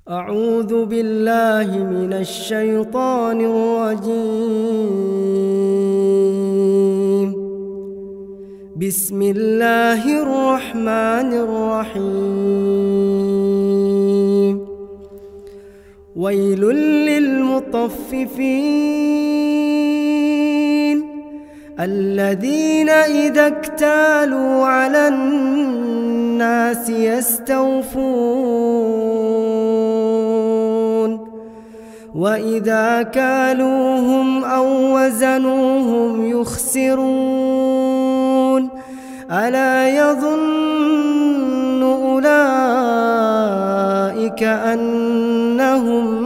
أعوذ بالله من الشيطان الرجيم. بسم الله الرحمن الرحيم. ويل للمطففين الذين إذا اكتالوا على الناس يستوفون وإذا كالوهم أو وزنوهم يخسرون ألا يظن أولئك أنهم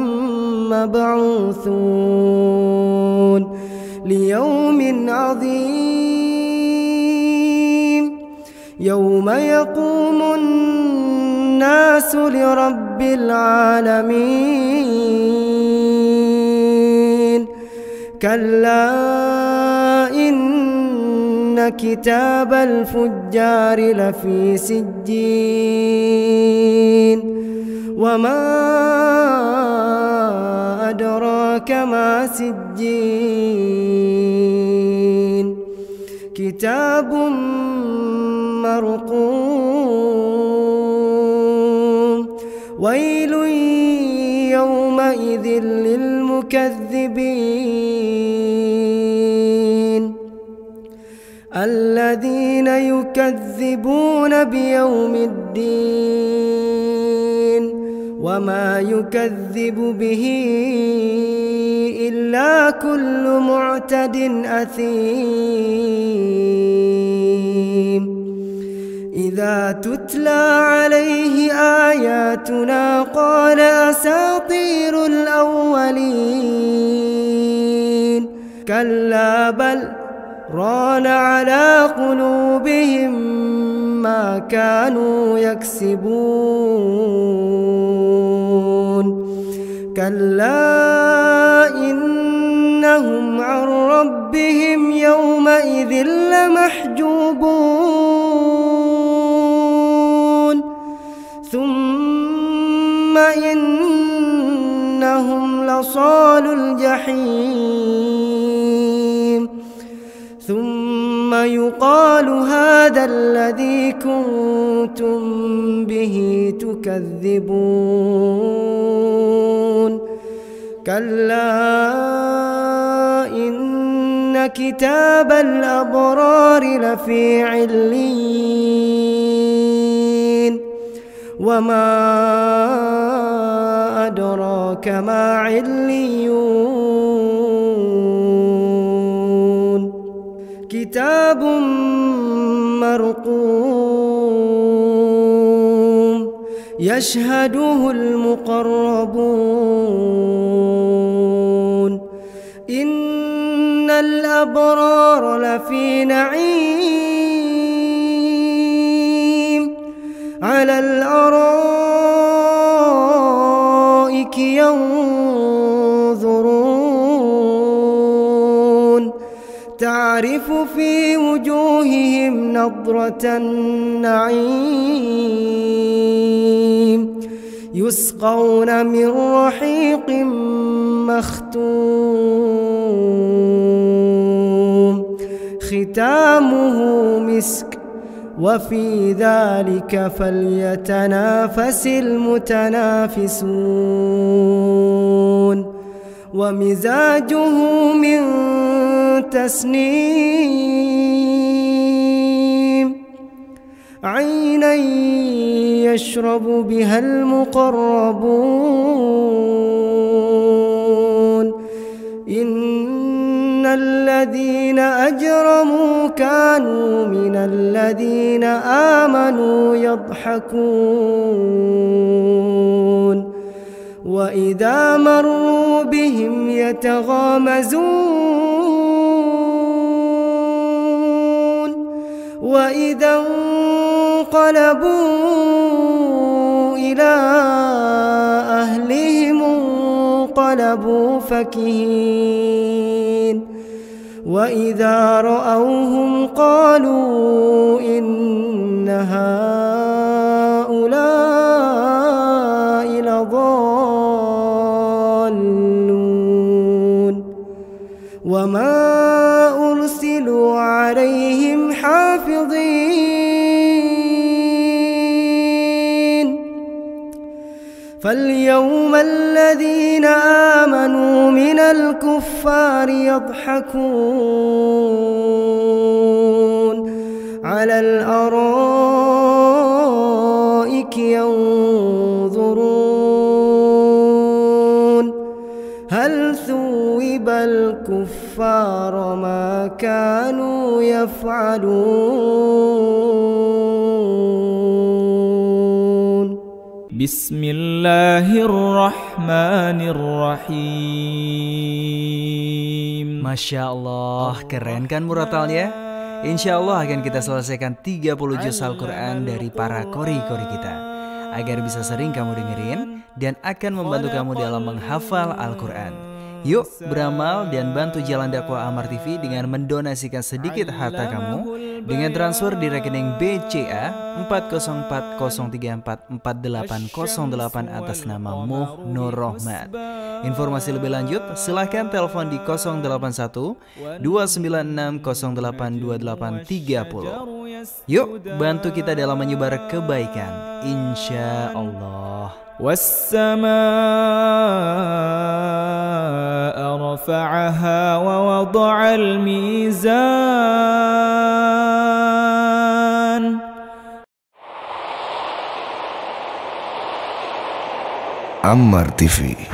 مبعوثون ليوم عظيم يوم يقوم الناس لرب العالمين. كلا إن كتاب الفجار لفي سجين وما أدراك ما سجين كتاب مرقوم. ويل يومئذ للمكذبين الذين يكذبون بيوم الدين وما يكذب به إلا كل معتد أثيم. إذا تتلى عليه آياتنا قال أساطير الأولين كلا بل ران على قلوبهم ما كانوا يكسبون. كلا إنهم عن ربهم يومئذ لمحجوبون ثم إنهم لصالو الجحيم ثم يقال هذا الذي كنتم به تكذبون. كلا إن كتاب الأبرار لفي عليين وما أدراك ما عليون كتاب مرقوم يشهده المقربون. إن الأبرار لفي نعيم على الأرائك ينظرون تعرف في وجوههم نضرة النعيم يسقون من رحيق مختوم ختامه مسك وفي ذلك فليتنافس المتنافسون. ومزاجه من تسنيم عينا يشرب بها المقربون. إن الذين أجرموا كانوا من الذين آمنوا يضحكون وإذا مروا بهم يتغامزون وإذا انقلبوا إلى أهلهم انقلبوا فكهين وإذا رأوهم قالوا إن هؤلاء لضالون فاليوم الذين آمنوا من الكفار يضحكون على الأرائك ينظرون هل ثوب الكفار ما كانوا يفعلون. بسم الله الرحمن الرحيم. Masya Allah, keren kan muratalnya? Insya Allah akan kita selesaikan 30 juz Al-Quran dari para kori-kori kita, agar bisa sering kamu dengerin dan akan membantu kamu dalam menghafal Al-Quran. Yuk beramal dan bantu jalan dakwah Amar TV dengan mendonasikan sedikit harta kamu dengan transfer di rekening BCA 40403448808 atas nama Muh Nur Rohmat. Informasi lebih lanjut silahkan telepon di 081 296 082830. Yuk bantu kita dalam menyebar kebaikan, insya Allah. والسماء رفعها ووضع الميزان. Ammar TV.